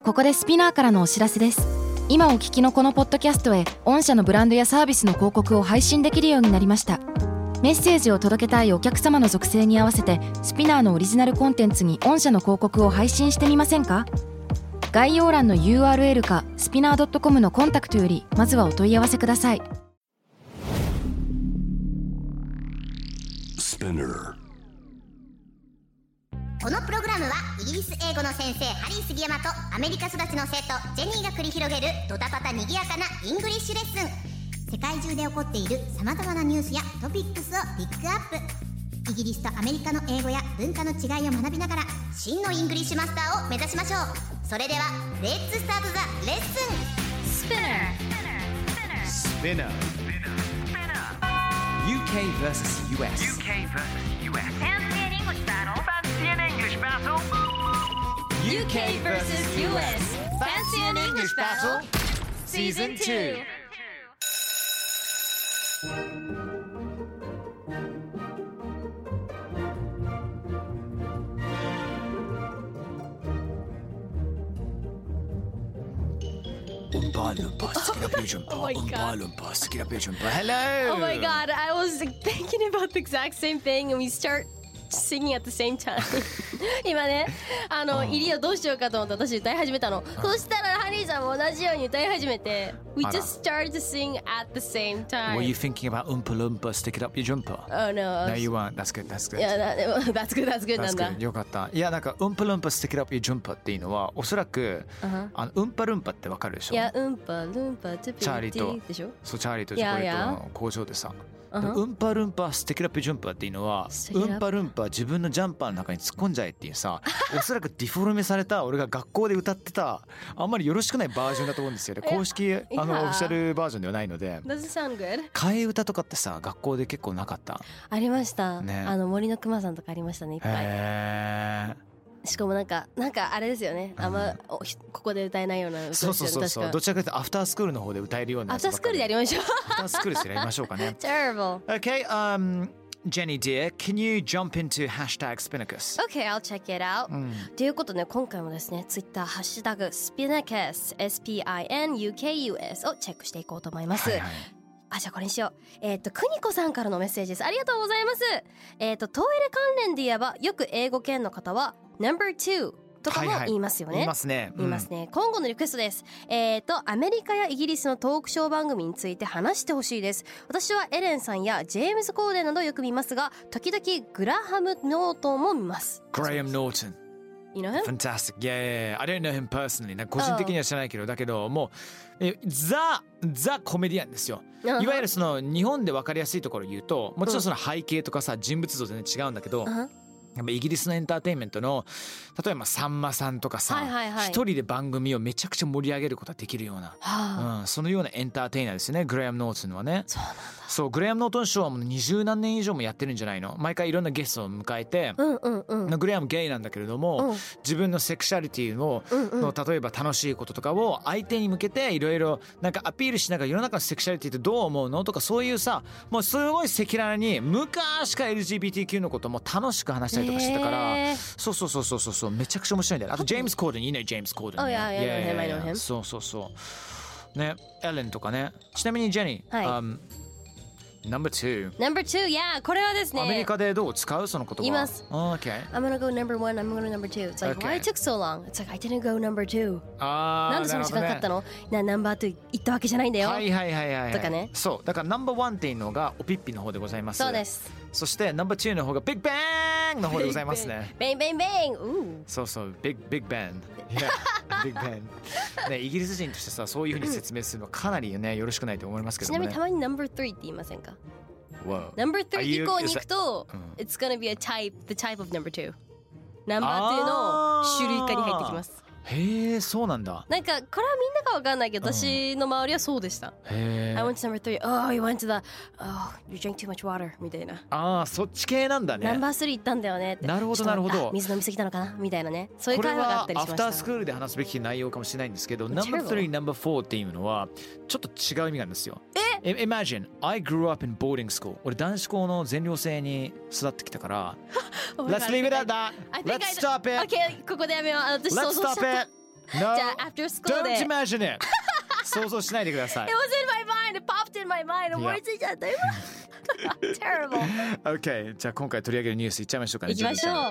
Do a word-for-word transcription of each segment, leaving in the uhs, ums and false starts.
ここでスピナーからのお知らせです。今お聞きのこのポッドキャストへ御社のブランドやサービスの広告を配信できるようになりました。メッセージを届けたいお客様の属性に合わせてスピナーのオリジナルコンテンツに御社の広告を配信してみませんか？概要欄の ユーアールエル かスピナー ドットコム のコンタクトよりまずはお問い合わせください。 このプログラムはイギリス英語の先生ハリー杉山とアメリカ育ちの生徒ジェニーが繰り広げるドタパタにぎやかなイングリッシュレッスン。世界中で起こっている様々なニュースやトピックスをピックアップ。イギリスとアメリカの英語や文化の違いを学びながら真のイングリッシュマスターを目指しましょう。それではレッツスタートザレッスン。スピナースピナー ユーケー vs ユーエス ユーケー vs ユーエス Fancy an English battle Fancy an English battle ユーケー vs ユーエス Fancy an English battle Season two Oompa Loompa, stick it up your jumper. Oh my Oompa God. Loompa, stick it up your jumper. Hello. Oh my god, I was thinking about the exact same thing and we start singing at the same time 今ね、あの入りをどうしようかと思って私歌い始めたの。そしたらハリーさんも同じように歌い始めて We just started to sing at the same time. Were you thinking about Oompa Loompa, stick it up your jumper? Oh no. No, you weren't. That's good, that's good. いや、でも That's good, that's good なんだ。 よかった。いや、なんか Oompa Loompa, stick it up your jumper っていうのはおそらく、 uh-huh. あのウンパルンパってわかるでしょ？ いや、ウンパルンパチョピチャーリーとでしょ？ そう、チャーリーとチョコレートの工場でさ。 Uh-huh. ウンパルンパステキラピジュンパーっていうのはウンパルンパ自分のジャンパーの中に突っ込んじゃえっていうさおそらくディフォルメされた俺が学校で歌ってたあんまりよろしくないバージョンだと思うんですよね。公式あのオフィシャルバージョンではないので。 Does it sound good? 替え歌とかってさ学校で結構なかった？ ありました、 ね、 あの森のくまさんとかありましたねいっぱい。 へーしかもなんかなんかあれですよね、あんま、うん、ここで歌えないような歌ですよね。 そうそうそうそう、どちらかというとアフタースクールの方で歌えるようなやつばっかり。 アフタースクールでやりましょうアフタースクールでやりましょうかね Terrible. Okay, um, Jenny dear, can you jump into hashtag Spinnacus? Okay, I'll check it out、うん、ということで今回もですね Twitter ハッシュタグ Spinnacusエスピーアイエヌユーケーユーエス をチェックしていこうと思います、はいはい。あ、じゃあこれにしよう。えっと、くにこさんからのメッセージです。ありがとうございます。えっと、トイレ関連で言えば、よく英語圏の方は ナンバーツー とかも言いますよね。はいはい、言いますね。言いますね。今後のリクエストです。えっと、アメリカやイギリスのトークショー番組について話してほしいです。私はエレンさんやジェームズ・コーデンなどよく見ますが、時々グラハム・ノートンも見ます。 Graham Norton。You know him? Fantastic. Yeah, yeah, yeah. I don't know him personally. なんか個人的には知らないけど、だけどもうえザザコメディアンですよ。いわゆるその日本で分かりやすいところを言うと、もちろんその背景とかさ人物像全然違うんだけど。Uh-huh.やっぱイギリスのエンターテインメントの例えばさんまさんとかさ、はいはいはい、一人で番組をめちゃくちゃ盛り上げることができるような、はあうん、そのようなエンターテイナーですねグレアム・ノートンはね。 そうなんだ。 そうグレアム・ノートンショーはもう二十何年以上もやってるんじゃないの。毎回いろんなゲストを迎えて、 うんうんうん、 グレアムゲイなんだけれども、うん、自分のセクシャリティの、うんうん、の例えば楽しいこととかを相手に向けていろいろなんかアピールしながら世の中のセクシャリティってどう思うのとかそういうさもうすごい赤裸々に昔から エルジービーティーキュー のことも楽しく話したりとかしてたから、えーそうそうそうそうそうめちゃくちゃ面白いんだよ。あとジェームズ・コーデンいいねジェームズ・コーデン。 Oh yeah, yeah, I know him, I know him. そうそうそうねエレンとかね。ちなみにジェニー、はい、um, number two number two yeah これはですねアメリカでどう使うその言葉。 言います。 oh, Okay I'm gonna go number one I'm gonna go number two It's like、okay. why it took so long It's like I didn't go number two あなんでその時間かかったの、ね、なナンバーツー言ったわけじゃないんだよ。 はいはいはいはい、はい、 とかね。 そうだからナンバーワンっていうのがおピッピの方でございます。 そうです。 そしてナンバーツーの方がビッグバンの方でございますね。 ベンベンベンうそうそうビッグビッグバンビッグバンねイギリス人としてさそういう風に説明するのはかなりねよろしくないと思いますけどもね。 ちなみにたまにナンバースリーって言いませんか。 Wow. Number three 以降に行くと It's gonna be a type The type of number two ナンバーツーの種類化に入ってきます。 へえそうなんだ。 なんかこれはみんなかわかんないけど、うん、私の周りはそうでした。 へえ I went to number three Oh you went to the Oh you drank too much water みたいな。 ああそっち系なんだね。 ナンバースリー行ったんだよねって。 なるほどなるほど。 水飲みすぎたのかなみたいなね。そういう会話があったりしました。 これはアフタースクールで話すべき内容かもしれないんですけどナンバースリーナンバーフォーっていうのはちょっと違う意味があるんですよ。 え Imagine I grew up in boarding school 俺男子校の全寮制に育ってきたからLet's leave it at that Let's stop it Okay ここでやめよう。私 Let's stop it No, じゃあ after school で don't imagine it 想像しないでください It was in my mind, it popped in my mind 思いついちゃった今Terrible OK じゃあ今回取り上げるニュースいっちゃいましょうかね。 いきましょう。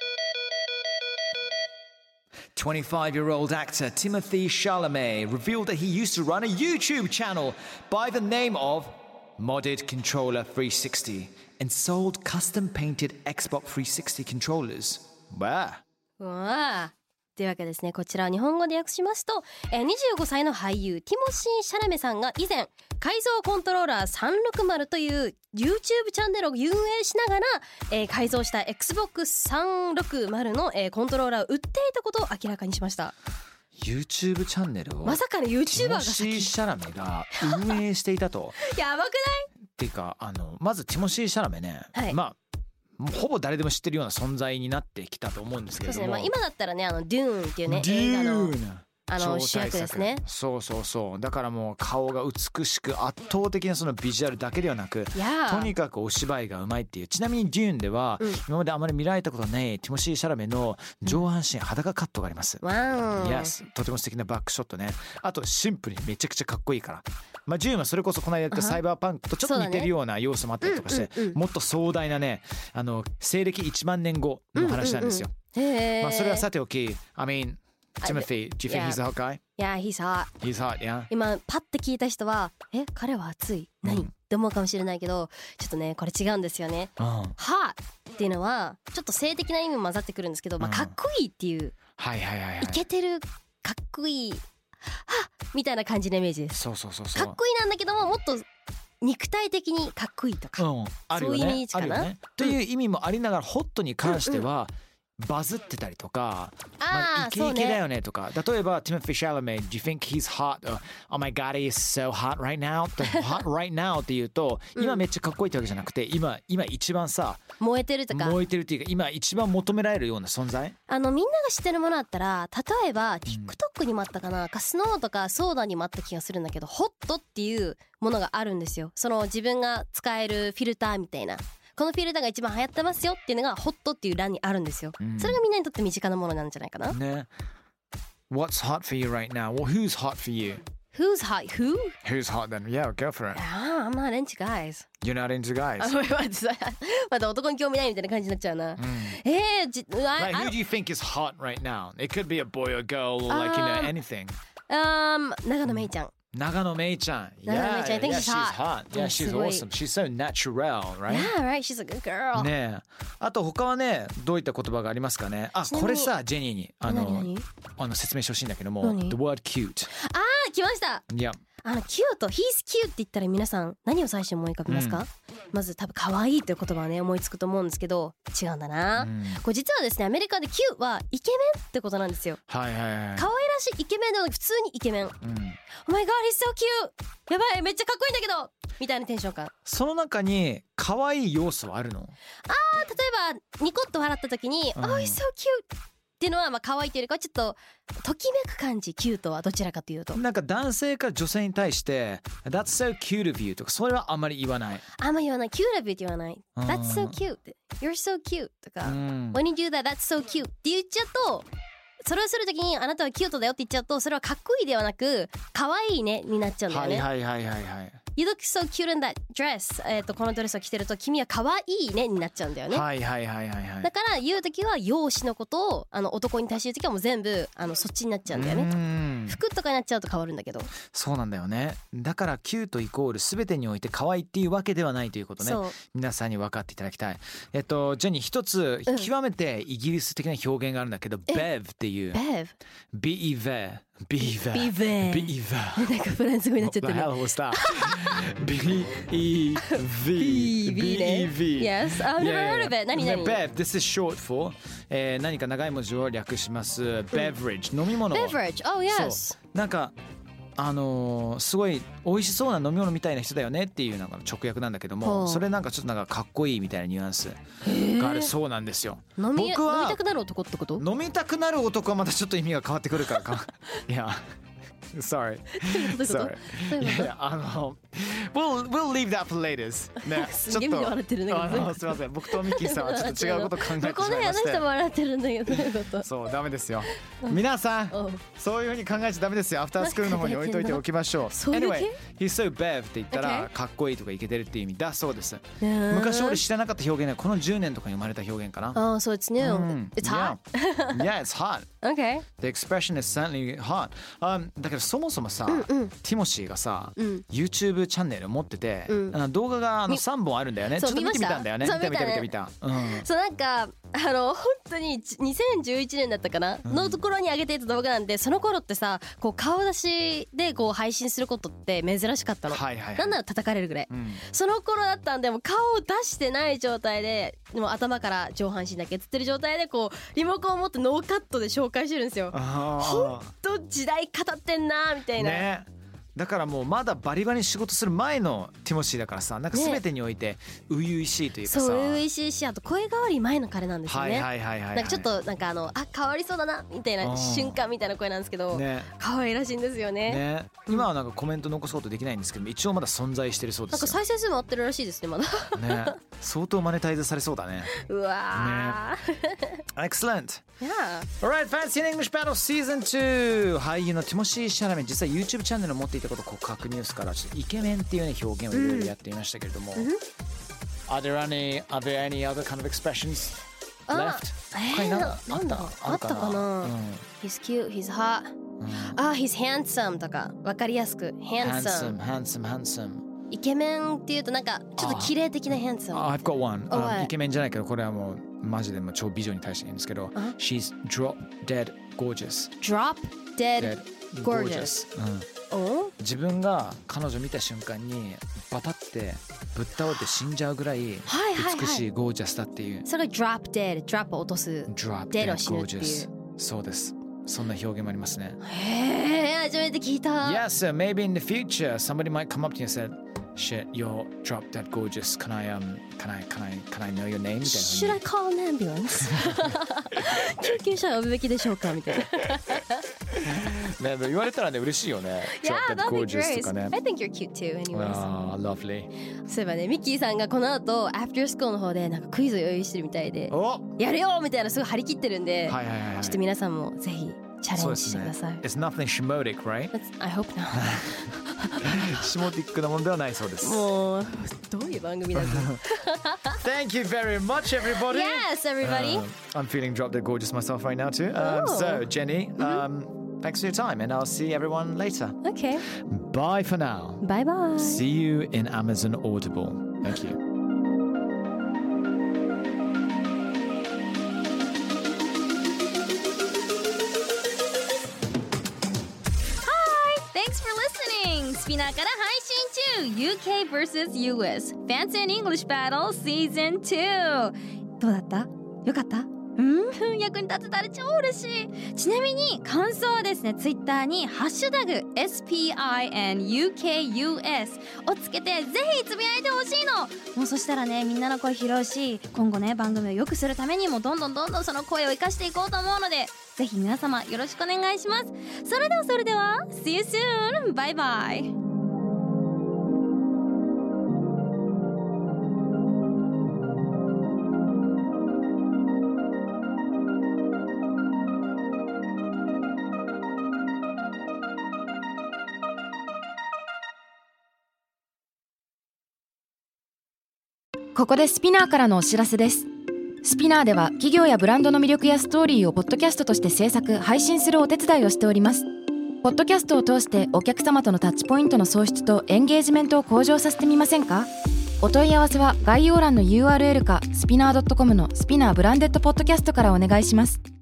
twenty-five-year-old actor Timothy Chalamet revealed that he used to run a YouTube channel by the name of Modded Controller three sixty and sold custom-painted Xbox three sixty controllers. Wow. わあというわけですね、こちらを日本語で訳しますと、えー、にじゅうごさいの俳優ティモシー・シャラメさんが以前改造コントローラーさんろくまるという YouTube チャンネルを運営しながら、えー、改造した エックスボックスさんろくまる の、えー、コントローラーを売っていたことを明らかにしました。 YouTube チャンネルをまさかの YouTuber がティモシー・シャラメが運営していたとやばくないっていうかあのまずティモシー・シャラメね、はい、まあほぼ誰でも知ってるような存在になってきたと思うんですけれども、 そうですね、まあ、今だったらねあのデューンっていうね映画のあの主役ですね。 そうそうそうだからもう顔が美しく圧倒的なそのビジュアルだけではなくとにかくお芝居がうまいっていう。ちなみにデューンでは、うん、今まであまり見られたことないティモシー・シャラメの上半身裸カットがあります、 うん、 yes とても素敵なバックショットね。あとシンプルにめちゃくちゃかっこいいから、まあ、デューンはそれこそこの間やったサイバーパンクとちょっと似てるような要素もあったりとかして、ねうんうんうん、もっと壮大なねあの西暦いちまんねんごの話なんですよ、 うんうんうん、 まあ、それはさておき I mean Timothy, do you think he's a hot guy? Yeah, he's hot. He's hot, yeah. 今パッて聞いた人はえ彼は熱い何、うん、って思うかもしれないけどちょっとねこれ違うんですよね、うん、hot っていうのはちょっと性的な意味も混ざってくるんですけど、まあ、かっこいいっていう、うん、 はいはいはいはい、 イケてるかっこいいはっみたいな感じのイメージです。 そうそうそうそうかっこいいなんだけどももっと肉体的にかっこいいとか、うん、あるよね、そういうイメージかな、 ね、という意味もありながらホットに関しては、うんうんバズってたりとか、まあ、イケイケだよねとか、例えば Timothy Chalamet, do you think he's hot? Oh my god, he's so hot right now? hot right now って言うと、今めっちゃかっこいいってわけじゃなくて、今今一番さ燃えてるとか燃えてるっていうか今一番求められるような存在。 あのみんなが知ってるものだったら、例えば TikTok にもあったかな、うん、かスノーとかソーダにもあった気がするんだけど、ホットっていうものがあるんですよ。その自分が使えるフィルターみたいな。このフィルターが一番流行ってますよっていうのがホットっていう欄にあるんですよ、うん、それがみんなにとって身近なものなんじゃないかなね。 What's hot for you right now? Well, who's hot for you? Who's hot? Who? Who's hot then? Yeah, go for it. I'm not into guys. You're not into guys? まだ男に興味ないみたいな感じになっちゃうな、うん、えーじ Like, who do you think is hot right now? It could be a boy or girl or like, you know, anything. Um, 長野めいちゃん。 長野めいちゃん。 長野めいちゃん。I think yeah, she's hot. Yeah, she's awesome. She's so natural, right? Yeah, right. She's a good girl. ねえ。あと他はね、どういった言葉がありますかね。あ、これさ、ジェニーにあのあの説明してほしいんだけども、the word cute。 あー、来ました。 いや。 あのキュート、he's cute って言ったら皆さん何を最初に思い浮かべますか？うん、まず多分可愛いという言葉はね思いつくと思うんですけど、違うんだな、うん、これ実はですねアメリカでキューはイケメンってことなんですよ。 はいはいはい。 可愛らしいイケメンではなく普通にイケメン、うん、Oh my god he's so cute やばいめっちゃかっこいいんだけどみたいなテンション感。 その中に可愛い要素はあるの？ あー、例えばニコッと笑った時に、うん、Oh he's so cuteっていうのはまあ可愛いというよりかはちょっとときめく感じ。キュートはどちらかというとなんか男性から女性に対して That's so cute of you とかそれはあんまり言わない。 あんまり言わない。 Cute of you って言わない。 That's so cute You're so cute とか When you do that That's so cute って言っちゃうと、それをするときにあなたはキュートだよって言っちゃうとそれはかっこいいではなく可愛いねになっちゃうんだよね。 はいはいはいはいはい。 You look so cute in that dress えっとこのドレスを着てると君は可愛いねになっちゃうんだよね。 はいはいはいはいはい。 だから言うときは容姿のことをあの男に対して言うときはもう全部あのそっちになっちゃうんだよね。服とかになっちゃうと変わるんだけど。 そうなんだよね。だからキュートイコール全てにおいて可愛いっていうわけではないということね。皆さんに分かっていただきたい。えっとジェニー一つ極めてイギリス的な表現があるんだけど、うん、ベブっていう。 ベブ。 ビーベー。ビーバービーバービーバーなんかフランス語になっちゃってる。 What the hell was that? ビーイーブイ ビーイーブイ Yes, I've never heard of it. 何何 Bev, this is short for、えー、何か長い文字を略します Beverage、飲み物。 Beverage, oh yes。 なんかあのー、すごい美味しそうな飲み物みたいな人だよねっていうなんか直訳なんだけども、それなんかちょっとなんかかっこいいみたいなニュアンスがあるそうなんですよ。 飲み、僕は飲みたくなる男ってこと？ 飲みたくなる男はまたちょっと意味が変わってくるからかいやsorry sorry いやあの we'll, we'll leave that for later ねすげえみんな笑ってるんだけどあのすみません僕とミッキーさんはちょっと違うこと考えてしまいましてこの部屋の人も笑ってるんだけどどういうことそうダメですよ皆さんそういうふうに考えちゃダメですよアフタースクールの方に置いといておきましょうAnyway he's so bev って言ったらかっこいいとかイケてるっていう意味だそうです昔俺知らなかった表現はこのじゅうねんとかに生まれた表現かなああそうit's new It's hot Yeah it's hot Okay The expression is certainly hot、um, だけどそもそもさ、うんうん、ティモシーがさ、うん、YouTube チャンネル持ってて、うん、動画があのさんぼんあるんだよねちょっと見てみたんだよね見た見た見た見た、うん、 そうなんかあの本当ににせんじゅういちねんだったかな、うん、のところに上げていた動画なんでその頃ってさこう顔出しでこう配信することって珍しかったの、はいはいはい、なんなら叩かれるぐらい、うん、その頃だったんでも顔を出してない状態ででも頭から上半身だけ映ってる状態でこうリモコンを持ってノーカットで紹介してるんですよほんと時代語ってんなみたいな、ねだからもうまだバリバリに仕事する前のティモシーだからさなんか全てにおいて初々しいというかさ、ね、 そう初々しいしあと声変わり前の彼なんですよねなんかちょっとなんかあのあ変わりそうだなみたいな瞬間みたいな声なんですけど、ね、可愛らしいんですよ ね, ね今はなんかコメント残すことできないんですけど一応まだ存在してるそうですよなんか再生数も合ってるらしいですねまだね相当マネタイズされそうだねうわー、 ね、Excellent Yeah Alright Fancy in English Battle Season ツー俳優のティモシー・シャラメ実は YouTube チャンネルを持っていたこと告白ニュースからちょっとイケメンっていう、ね、表現をいろいろやっていましたけれども、うん、Are there any, are there any other kind of expressions left? 他に何かあったあったかな、うん、He's cute, he's hot、うん、あ、he's handsome とか分かりやすく Handsome, handsome, handsome イケメンっていうとなんかちょっと綺麗的な handsome I've got one、uh, イケメンじゃないけどこれはもうマジでも超美女に対して言うんですけど、uh-huh. She's drop dead gorgeous Drop dead, dead gorgeous、 うん、自分が彼女見た瞬間にバタってぶっ倒れて死んじゃうぐらい美しいゴージャスだっていう、はいはいはい、 それが drop dead drop を落とす drop dead gorgeous そうですそんな表現もありますねへー初めて聞いた Yes, so maybe in the future somebody might come up to you and say Shit, you're drop dead gorgeous. Can I um, can I, can I, can I know your name? Should I call an ambulance? 救急車呼ぶべきでしょうかみたいな。 ね、言われたらね嬉しいよね。 Yeah, that'd be great. I think you're cute too, anyways. Ah, lovely. そういえばね、ミッキーさんがこの後 After School の方でなんかクイズを用意してるみたいで、やるよみたいなすごい張り切ってるんで、はいはいはい、ちょっと皆さんもぜひチャレンジしてください。 ね、It's nothing shimotic, right? I hope not. シモティックなものではないそうです。 もうどういう番組だろう。 Thank you very much, everybody. Yes, everybody. Um, I'm feeling drop dead gorgeous myself right now too. Um, so, Jenny, mm-hmm. um, thanks for your time, and I'll see everyone later. Okay. Bye for now. Bye bye. See you in Amazon Audible. Thank you. Thanks for listening! スピナーから配信中 ユーケー vs ユーエス Fancy in English Battle Season ツーどうだった？よかった？うん役に立てたら超嬉しい。ちなみに感想はですね、ツイッターにハッシュタグ エスピーアイエヌユーケーユーエス をつけてぜひつぶやいてほしいの。もうそしたらね、みんなの声拾うし、今後ね番組を良くするためにもどんどんどんどんその声を生かしていこうと思うので、ぜひ皆様よろしくお願いします。それではそれでは See you soon! バイバイ。 ここでスピナーからのお知らせです。スピナーでは企業やブランドの魅力やストーリーをポッドキャストとして制作・配信するお手伝いをしております。ポッドキャストを通してお客様とのタッチポイントの創出とエンゲージメントを向上させてみませんか？お問い合わせは概要欄の ユーアールエル かスピナー ドットコム のスピナーブランデッドポッドキャストからお願いします。